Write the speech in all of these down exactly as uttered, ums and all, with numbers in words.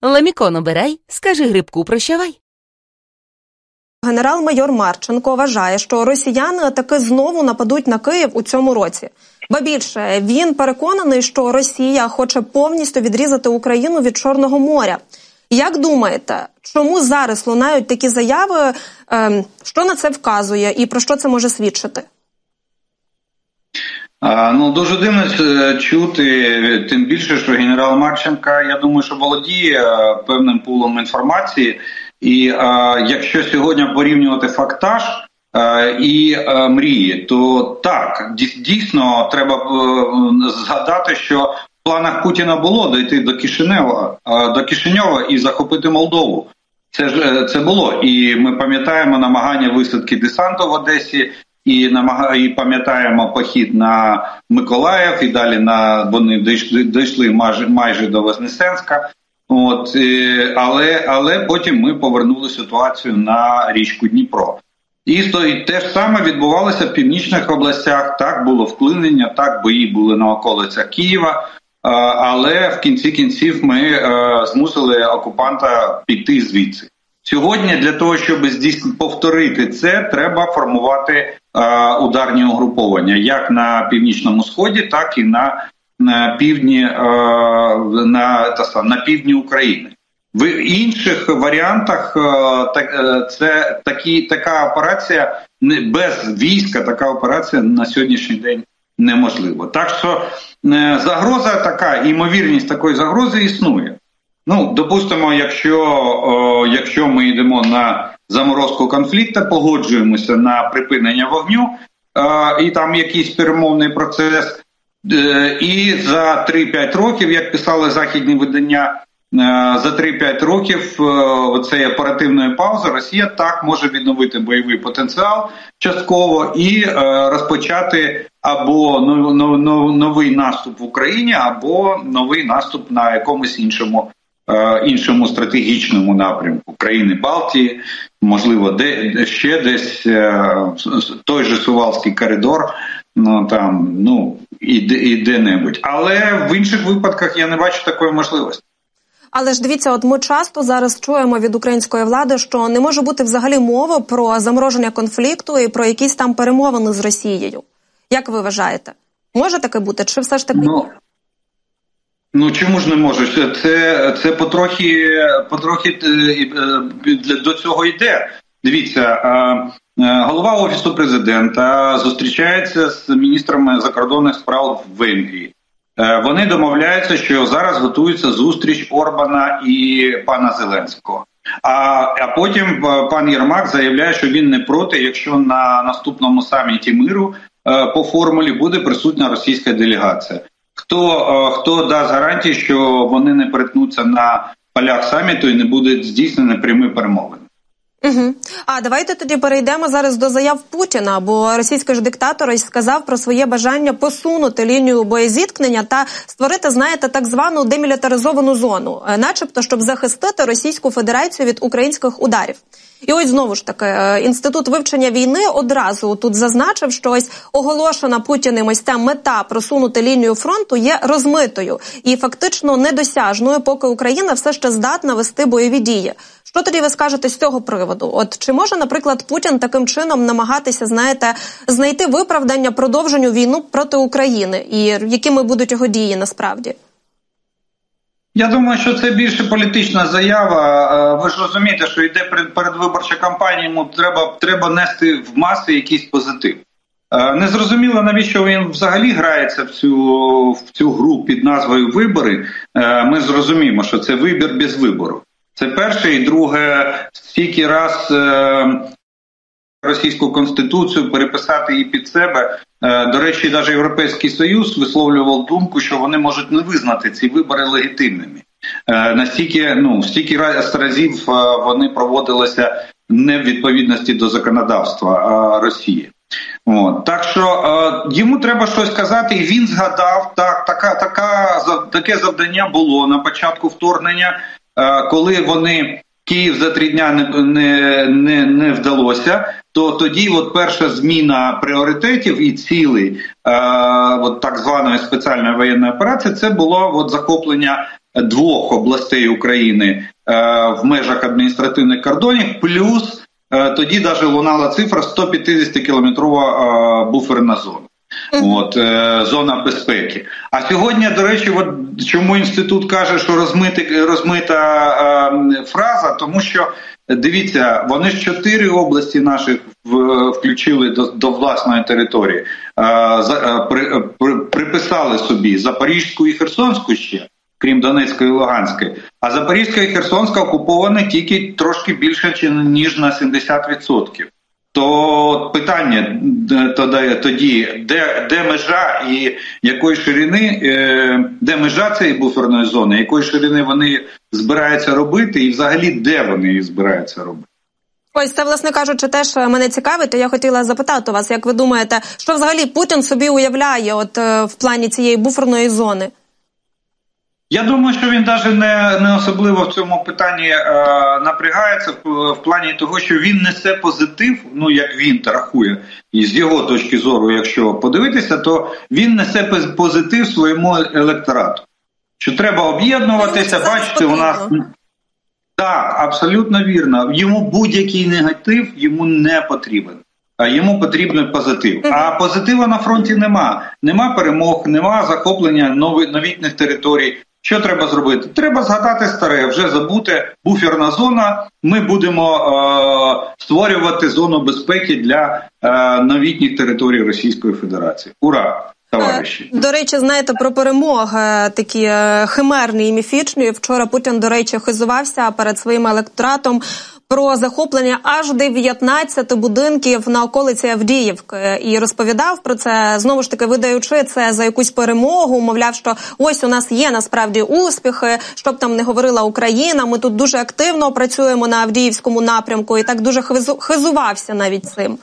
Ламікон обирай, скажи грибку прощавай. Генерал-майор Марченко вважає, що росіяни таки знову нападуть на Київ у цьому році. Ба більше, він переконаний, що Росія хоче повністю відрізати Україну від Чорного моря. Як думаєте, чому зараз лунають такі заяви, що на це вказує і про що це може свідчити? Ну, дуже дивно чути, тим більше, що генерал Марченко, я думаю, що володіє певним пулом інформації. І а, якщо сьогодні порівнювати фактаж а, і а, мрії, то так, дійсно треба а, згадати, що в планах Путіна було дійти до Кишинева, а, до Кишиньова і захопити Молдову. Це ж це було. І ми пам'ятаємо намагання висадки десанту в Одесі, і намаг... і пам'ятаємо похід на Миколаїв, і далі на вони дійшли, дійшли майже, майже до Вознесенська. От, але, але потім ми повернули ситуацію на річку Дніпро. І, і те ж саме відбувалося в північних областях, так було вклинення, так бої були на околицях Києва, але в кінці кінців ми змусили окупанта піти звідси. Сьогодні для того, щоб здійснити, повторити це, треба формувати ударні угруповання, як на Північному Сході, так і на на півдні, на, та, на півдні України. В інших варіантах це такі, така операція, без війська така операція на сьогоднішній день неможлива. Так що загроза така, ймовірність такої загрози існує. Ну, допустимо, якщо, якщо ми йдемо на заморозку конфлікту, погоджуємося на припинення вогню, і там якийсь перемовний процес, і за три-п'ять років, як писали західні видання, за три-п'ять років оцеї оперативної паузи Росія так може відновити бойовий потенціал частково і розпочати або новий наступ в Україні, або новий наступ на якомусь іншому, іншому стратегічному напрямку країни Балтії, можливо, де, ще десь той же Сувалський коридор, ну там, ну, і, і де-небудь. Але в інших випадках я не бачу такої можливості. Але ж дивіться, от ми часто зараз чуємо від української влади, що не може бути взагалі мови про замороження конфлікту і про якісь там перемовини з Росією. Як ви вважаєте? Може таке бути? Чи все ж таки... Ну, ну чому ж не може? Це, це потрохи, потрохи до цього йде. Дивіться, голова Офісу Президента зустрічається з міністрами закордонних справ в Венгрії. Вони домовляються, що зараз готується зустріч Орбана і пана Зеленського. А, а потім пан Єрмак заявляє, що він не проти, якщо на наступному саміті миру по формулі буде присутня російська делегація. Хто, хто дасть гарантії, що вони не перетнуться на полях саміту і не буде здійснені прямі перемовини? Угу. А давайте тоді перейдемо зараз до заяв Путіна, бо російський ж диктатор ось сказав про своє бажання посунути лінію боєзіткнення та створити, знаєте, так звану демілітаризовану зону, начебто, щоб захистити Російську Федерацію від українських ударів. І ось знову ж таки, Інститут вивчення війни одразу тут зазначив, що ось оголошена Путіним ось ця мета просунути лінію фронту є розмитою і фактично недосяжною, поки Україна все ще здатна вести бойові дії. Що тоді ви скажете з цього приводу? От чи може, наприклад, Путін таким чином намагатися, знаєте, знайти виправдання продовженню війну проти України? І якими будуть його дії насправді? Я думаю, що це більше політична заява. Ви ж розумієте, що йде передвиборча кампанія, йому треба, треба нести в маси якийсь позитив. Незрозуміло, навіщо він взагалі грається в цю, в цю гру під назвою «Вибори». Ми зрозуміємо, що це вибір без вибору. Це перше. І друге, стільки раз російську конституцію переписати її під себе. До речі, навіть Європейський Союз висловлював думку, що вони можуть не визнати ці вибори легітимними. Настільки, ну, стільки разів вони проводилися не в відповідності до законодавства Росії. От. Так що йому треба щось казати, і він згадав, так, така, така, таке завдання було на початку вторгнення, коли вони Київ за три дня не, не, не, не вдалося, то тоді от перша зміна пріоритетів і цілей е, от так званої спеціальної воєнної операції, це було от захоплення двох областей України в межах адміністративних кордонів, плюс тоді навіть лунала цифра сто п'ятдесятикілометрова буферна зона. От, е, зона безпеки. А сьогодні, до речі, от чому інститут каже, що розмити, розмита е, фраза, тому що, дивіться, вони ж чотири області наших в, включили до, до власної території, е, за, при, при, приписали собі Запорізьку і Херсонську ще, крім Донецької і Луганської. А Запорізька і Херсонська окуповані тільки трошки більше, ніж на сімдесят відсотків. То питання тоді, де, де межа і якої ширини, де межа цієї буферної зони, якої ширини вони збираються робити і взагалі де вони її збираються робити? Ось це, власне кажучи, теж мене цікавить, і я хотіла запитати вас, як ви думаєте, що взагалі Путін собі уявляє от в плані цієї буферної зони? Я думаю, що він навіть не, не особливо в цьому питанні е, напрягається в, в плані того, що він несе позитив, ну як він рахує, і з його точки зору, якщо подивитися, то він несе позитив своєму електорату. Що треба об'єднуватися, бачите, у нас... Так, абсолютно вірно. Йому будь-який негатив йому не потрібен. А йому потрібен позитив. А позитиву на фронті нема. Нема перемог, нема захоплення нови, новітніх територій. Що треба зробити? Треба згадати старе, вже забути, буферна зона, ми будемо е, створювати зону безпеки для е, новітніх територій Російської Федерації. Ура, товариші! До речі, знаєте, про перемоги такі химерні і міфічні. Вчора Путін, до речі, хизувався перед своїм електоратом про захоплення аж дев'ятнадцяти будинків на околиці Авдіївки. І розповідав про це, знову ж таки, видаючи це за якусь перемогу, мовляв, що ось у нас є насправді успіхи, щоб там не говорила Україна, ми тут дуже активно працюємо на Авдіївському напрямку, і так дуже хизувався навіть цим.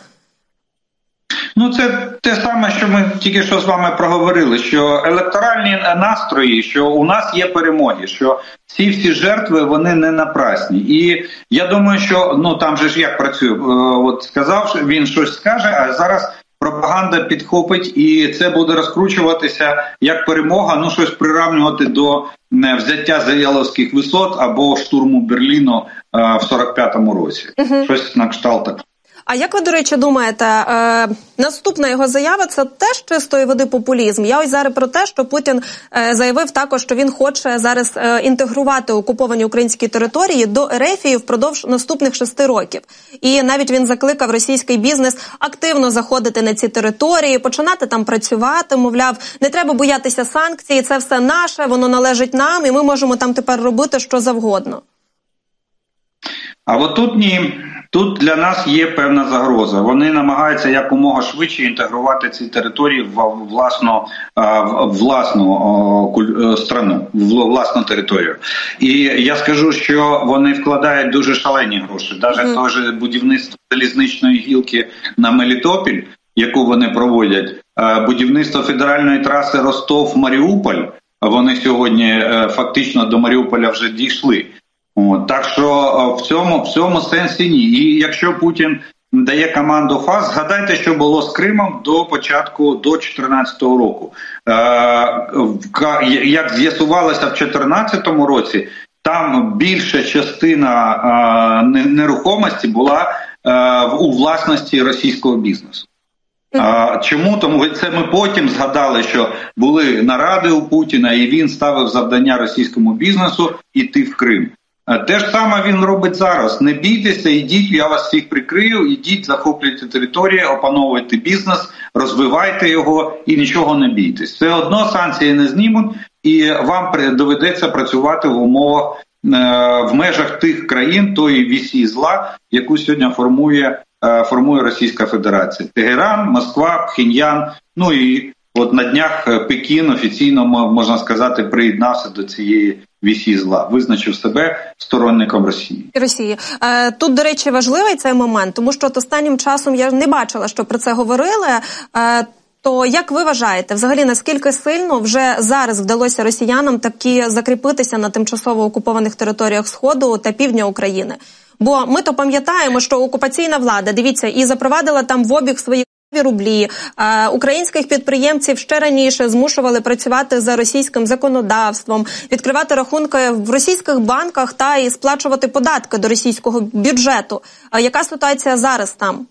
Ну, це те саме, що ми тільки що з вами проговорили, що електоральні настрої, що у нас є перемоги, що ці всі жертви, вони не напрасні. І я думаю, що, ну, там же ж як працює, от сказав, він щось скаже, а зараз пропаганда підхопить, і це буде розкручуватися як перемога, ну, щось приравнювати до взяття Зав'яловських висот або штурму Берліну в сорок п'ятому році. Uh-huh. Щось на кшталт так. А як ви, до речі, думаєте, е, наступна його заява – це теж чистої води популізм? Я ось зараз про те, що Путін е, заявив також, що він хоче зараз е, інтегрувати окуповані українські території до Ерефії впродовж наступних шести років. І навіть він закликав російський бізнес активно заходити на ці території, починати там працювати, мовляв, не треба боятися санкцій, це все наше, воно належить нам, і ми можемо там тепер робити що завгодно. А от тут ні. Тут для нас є певна загроза. Вони намагаються якомога швидше інтегрувати ці території в власну, в власну страну, в власну територію. І я скажу, що вони вкладають дуже шалені гроші. Навіть mm. теж будівництво залізничної гілки на Мелітопіль, яку вони проводять, будівництво федеральної траси Ростов-Маріуполь, вони сьогодні фактично до Маріуполя вже дійшли. От, так що в цьому, в цьому сенсі ні. І якщо Путін дає команду ФАС, згадайте, що було з Кримом до початку, до чотирнадцятого року. Е, як з'ясувалося в чотирнадцятому році, там більша частина е, нерухомості була е, у власності російського бізнесу. А, чому? Тому це ми потім згадали, що були наради у Путіна, і він ставив завдання російському бізнесу йти в Крим. Те ж саме він робить зараз. Не бійтеся, ідіть, я вас всіх прикрию, ідіть, захоплюйте територію, опановуйте бізнес, розвивайте його і нічого не бійтесь. Все одно санкції не знімуть, і вам доведеться працювати в умовах, в межах тих країн, тої вісі зла, яку сьогодні формує, формує Російська Федерація. Тегеран, Москва, Пхеньян, ну і от на днях Пекін офіційно, можна сказати, приєднався до цієї вісі зла, визначив себе сторонником Росії. Росії. Тут, до речі, важливий цей момент, тому що от останнім часом я не бачила, що про це говорили. То як ви вважаєте, взагалі, наскільки сильно вже зараз вдалося росіянам таки закріпитися на тимчасово окупованих територіях Сходу та Півдня України? Бо ми то пам'ятаємо, що окупаційна влада, дивіться, і запровадила там в обіг свої рублі, е, українських підприємців ще раніше змушували працювати за російським законодавством, відкривати рахунки в російських банках та і сплачувати податки до російського бюджету. Е, яка ситуація зараз там?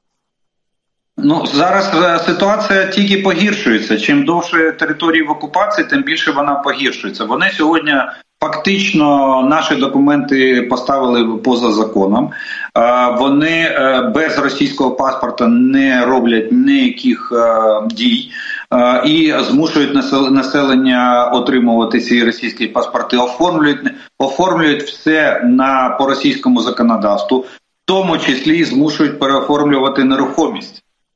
Ну, зараз ситуація тільки погіршується. Чим довше території в окупації, тим більше вона погіршується. Вони сьогодні фактично наші документи поставили поза законом. Вони без російського паспорта не роблять ніяких дій і змушують населення отримувати ці російські паспорти, оформлюють, оформлюють все на, по російському законодавству, в тому числі змушують переоформлювати нерухомість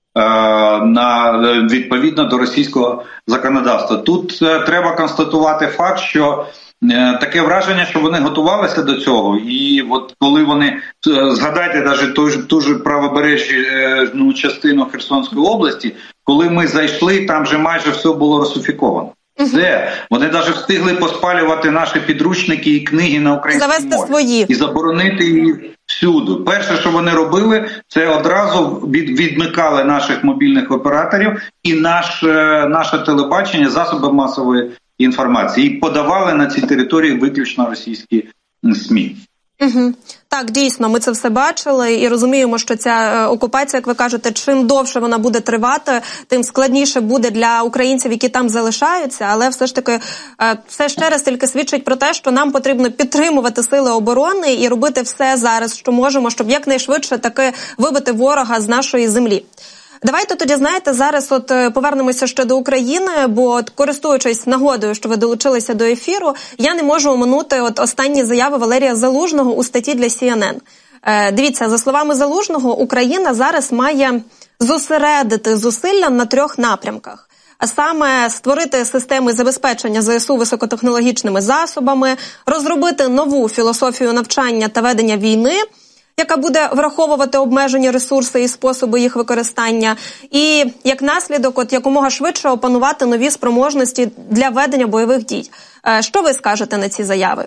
на відповідно до російського законодавства. Тут треба констатувати факт, що таке враження, що вони готувалися до цього, і от коли вони, згадайте навіть ту ж, ту ж правобережну частину Херсонської області, коли ми зайшли, там вже майже все було русифіковано. Все. Вони навіть встигли поспалювати наші підручники і книги на українській Завести мові. свої. І заборонити їх всюди. Перше, що вони робили, це одразу відмикали наших мобільних операторів і наш, наше телебачення, засоби масової інформації. І подавали на ці території виключно російські СМІ. Угу. Так, дійсно, ми це все бачили і розуміємо, що ця окупація, як ви кажете, чим довше вона буде тривати, тим складніше буде для українців, які там залишаються, але все ж таки це ще раз тільки свідчить про те, що нам потрібно підтримувати сили оборони і робити все зараз, що можемо, щоб якнайшвидше таки вибити ворога з нашої землі. Давайте тоді, знаєте, зараз от повернемося ще до України, бо от, користуючись нагодою, що ви долучилися до ефіру, я не можу оминути от останні заяви Валерія Залужного у статті для Сі Ен Ен. Е, дивіться, за словами Залужного, Україна зараз має зосередити зусилля на трьох напрямках. А саме створити системи забезпечення Зе Ес У високотехнологічними засобами, розробити нову філософію навчання та ведення війни, яка буде враховувати обмежені ресурси і способи їх використання, і, як наслідок, от якомога швидше опанувати нові спроможності для ведення бойових дій. Що ви скажете на ці заяви?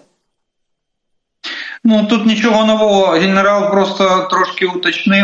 Ну, тут нічого нового. Генерал просто трошки уточнив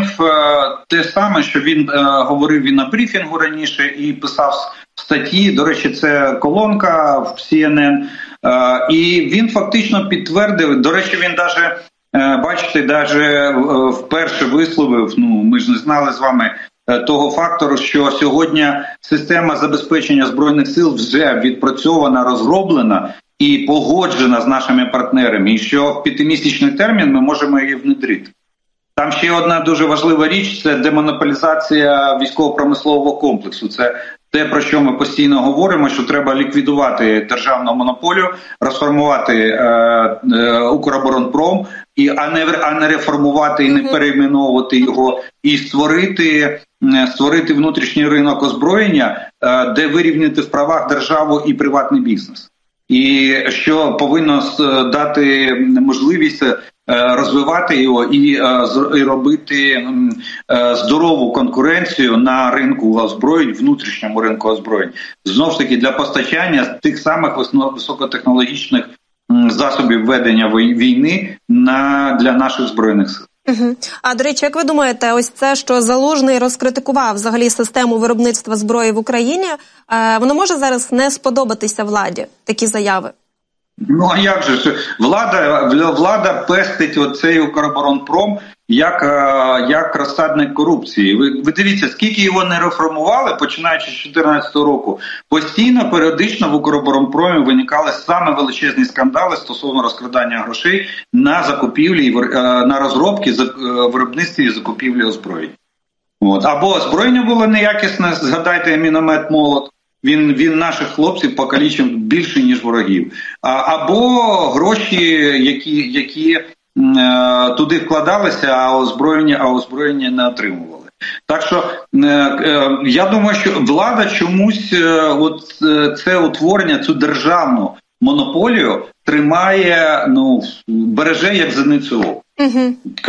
те саме, що він е, говорив і на брифінгу раніше, і писав статті. До речі, це колонка в Сі Ен Ен. Е, і він фактично підтвердив, до речі, він навіть бачите, навіть вперше висловив, ну ми ж не знали з вами того фактору, що сьогодні система забезпечення Збройних сил вже відпрацьована, розроблена і погоджена з нашими партнерами, і що в п'ятимісячний термін ми можемо її внедрити. Там ще одна дуже важлива річ – це демонополізація військово-промислового комплексу. Це те, про що ми постійно говоримо, що треба ліквідувати державну монополію, розформувати е, е, Укроборонпром, і, а, не, а не реформувати і не перейменовувати його, і створити, створити внутрішній ринок озброєння, е, де вирівняти в правах державу і приватний бізнес. І що повинно дати можливість розвивати його і, і робити здорову конкуренцію на ринку озброєнь, внутрішньому ринку озброєнь. Знову ж таки, для постачання тих самих високотехнологічних засобів ведення війни на, для наших Збройних сил. Угу. А, до речі, як ви думаєте, ось це, що Залужний розкритикував взагалі систему виробництва зброї в Україні, е, воно може зараз не сподобатися владі, такі заяви? Ну, а як же? Влада, влада пестить оцей Укроборонпром як, як розсадник корупції. Ви, ви дивіться, скільки його не реформували, починаючи з дві тисячі чотирнадцятого року, постійно, періодично в Укроборонпромі виникали саме величезні скандали стосовно розкрадання грошей на закупівлі, на розробки, виробництві і закупівлі озброєнь. От. Або озброєння було неякісне, згадайте міномет «Молот». Він, він наших хлопців покалічив більше, ніж ворогів. А, або гроші, які, які е, туди вкладалися, а озброєння, а озброєння не отримували. Так що е, е, я думаю, що влада чомусь е, от, е, це утворення, цю державну монополію тримає, ну, береже як зеницю ока. Угу.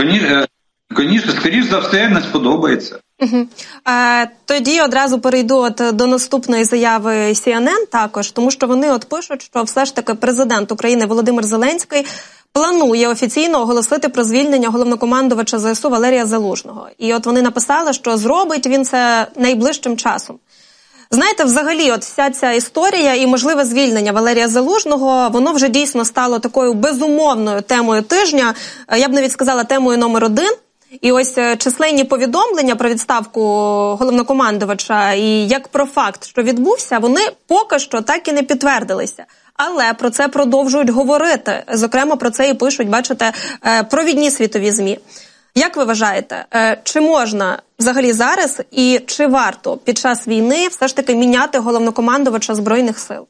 Коніше, скоріш за все, не сподобається. Угу. Е, тоді одразу перейду от до наступної заяви Сі Ен Ен також, тому що вони от пишуть, що все ж таки президент України Володимир Зеленський планує офіційно оголосити про звільнення головнокомандувача зе ес у Валерія Залужного. І от вони написали, що зробить він це найближчим часом. Знаєте, взагалі, от вся ця історія і можливе звільнення Валерія Залужного, воно вже дійсно стало такою безумовною темою тижня, я б навіть сказала темою номер один. І ось численні повідомлення про відставку головнокомандувача і як про факт, що відбувся, вони поки що так і не підтвердилися. Але про це продовжують говорити. Зокрема, про це і пишуть, бачите, провідні світові ЗМІ. Як ви вважаєте, чи можна взагалі зараз і чи варто під час війни все ж таки міняти головнокомандувача Збройних сил?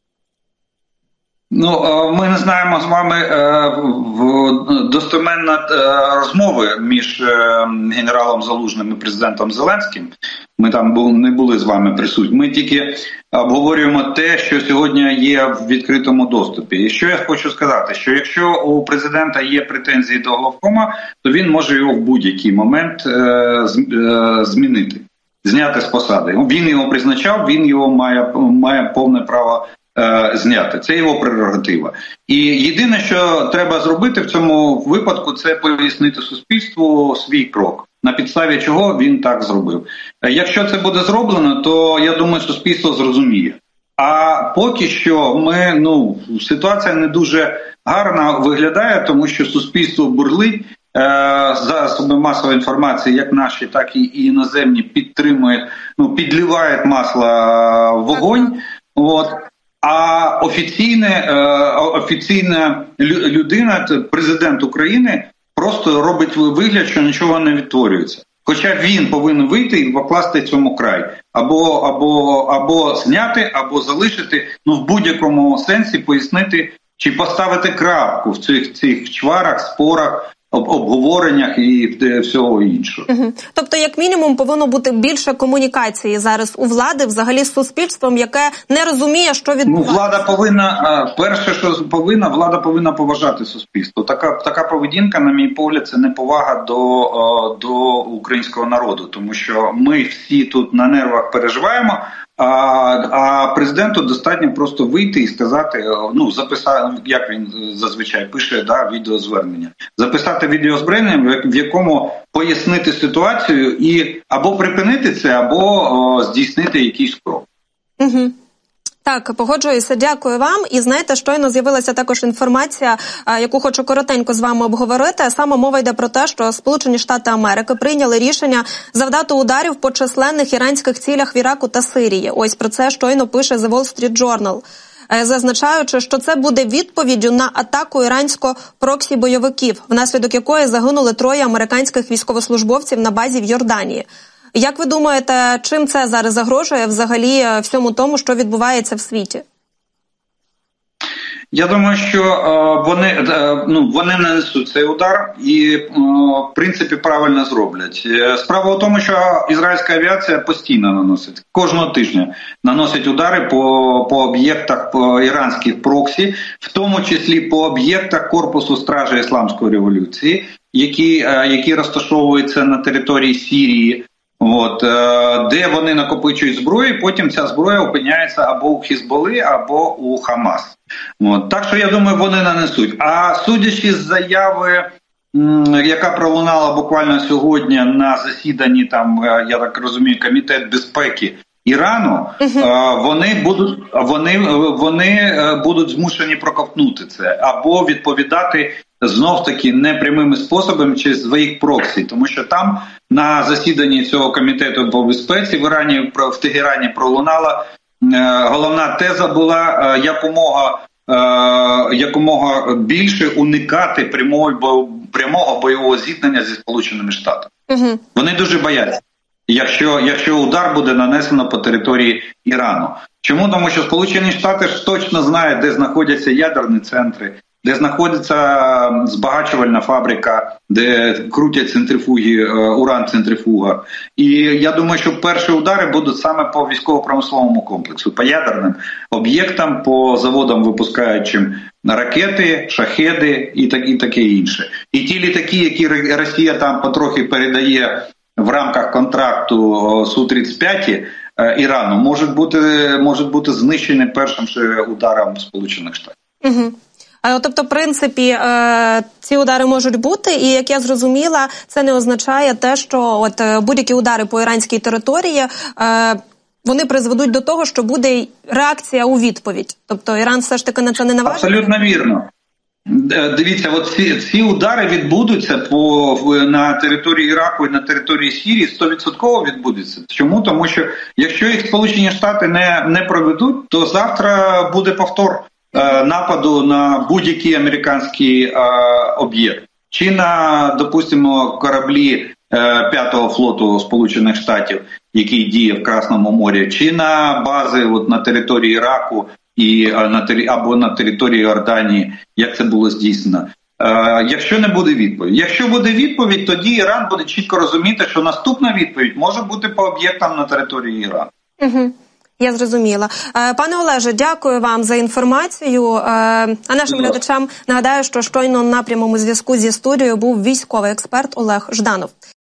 Ну, ми не знаємо з вами достеменно розмови між генералом Залужним і президентом Зеленським. Ми там не були з вами присутні. Ми тільки обговорюємо те, що сьогодні є в відкритому доступі. І що я хочу сказати, що якщо у президента є претензії до главкома, то він може його в будь-який момент змінити, зняти з посади. Він його призначав, він його має, має повне право зняти. Це його прерогатива. І єдине, що треба зробити в цьому випадку, це пояснити суспільству свій крок, на підставі чого він так зробив. Якщо це буде зроблено, то, я думаю, суспільство зрозуміє. А поки що ми, ну, ситуація не дуже гарна виглядає, тому що суспільство бурлить, засоби масової інформації, як наші, так і іноземні, підтримують, ну, підливають масло в вогонь. От. А офіційне, офіційна людина, президент України, просто робить вигляд, що нічого не відтворюється. Хоча він повинен вийти і покласти цьому край. Або, або, або зняти, або залишити, ну в будь-якому сенсі пояснити, чи поставити крапку в цих, цих чварах, спорах, обговореннях і всього іншого. Угу. Тобто, як мінімум, повинно бути більше комунікації зараз у влади, взагалі з суспільством, яке не розуміє, що відбувається. Ну, влада повинна, перше, що повинна, влада повинна поважати суспільство. Така, така поведінка, на мій погляд, це неповага до, до українського народу, тому що ми всі тут на нервах переживаємо, А, а президенту достатньо просто вийти і сказати, ну, записати, як він зазвичай пише, да, відеозвернення. Записати відеозвернення, в якому пояснити ситуацію і або припинити це, або о, здійснити якийсь крок. Угу. Так, погоджуюся, дякую вам. І знаєте, щойно з'явилася також інформація, яку хочу коротенько з вами обговорити. Саме мова йде про те, що Сполучені Штати Америки прийняли рішення завдати ударів по численних іранських цілях в Іраку та Сирії. Ось про це щойно пише The Wall Street Journal, зазначаючи, що це буде відповіддю на атаку ірансько-проксі-бойовиків, внаслідок якої загинули троє американських військовослужбовців на базі в Йорданії. Як ви думаєте, чим це зараз загрожує взагалі всьому тому, що відбувається в світі? Я думаю, що е, вони, е, ну, вони нанесуть цей удар і, е, в принципі, правильно зроблять. Справа в тому, що ізраїльська авіація постійно наносить, кожного тижня наносить удари по, по об'єктах по іранських проксі, в тому числі по об'єктах Корпусу Стражі Ісламської революції, які, е, які розташовуються на території Сирії. От, де вони накопичують зброю, потім ця зброя опиняється або у Хізболи, або у Хамас. От, так що, я думаю, вони нанесуть. А судячи з заяви, яка пролунала буквально сьогодні на засіданні, там, я так розумію, Комітет безпеки Ірану, uh-huh. вони будуть, вони, вони будуть змушені проковтнути це, або відповідати знов-таки непрямими способами через своїх проксі, тому що там на засіданні цього комітету по безпеці в Ірані, в Тегерані пролунала головна теза була якомога, якомога більше уникати прямого, прямого бойового зіткнення зі Сполученими Штатами. Uh-huh. Вони дуже бояться, якщо, якщо удар буде нанесено по території Ірану. Чому? Тому що Сполучені Штати ж точно знають, де знаходяться ядерні центри, де знаходиться збагачувальна фабрика, де крутять центрифуги, уран-центрифуга. І я думаю, що перші удари будуть саме по військово-промисловому комплексу, по ядерним об'єктам, по заводам, випускаючим ракети, шахеди і, так, і таке інше. І ті літаки, які Росія там потрохи передає в рамках контракту Су тридцять п'ять Ірану, можуть бути, можуть бути знищені першим же ударом Сполучених Штатів. Угу. Тобто, в принципі, ці удари можуть бути, і, як я зрозуміла, це не означає те, що от будь-які удари по іранській території, вони призведуть до того, що буде реакція у відповідь. Тобто Іран все ж таки на це не наважиться? Абсолютно вірно. Дивіться, от ці, ці удари відбудуться по, на території Іраку і на території Сирії, сто відсотків відбудуться. Чому? Тому що якщо їх Сполучені Штати не, не проведуть, то завтра буде повтор е, нападу на будь-який американський е, об'єкт. Чи на, допустимо, кораблі е, п'ятого флоту Сполучених Штатів, який діє в Красному морі, чи на бази от, на території Іраку, і на або на території Йорданії, як це було здійснено. Е, якщо не буде відповідь. Якщо буде відповідь, тоді Іран буде чітко розуміти, що наступна відповідь може бути по об'єктам на території Ірану. Угу. Я зрозуміла. Е, пане Олеже, дякую вам за інформацію. Е, а нашим Будь глядачам нагадаю, що щойно на прямому зв'язку зі студією був військовий експерт Олег Жданов.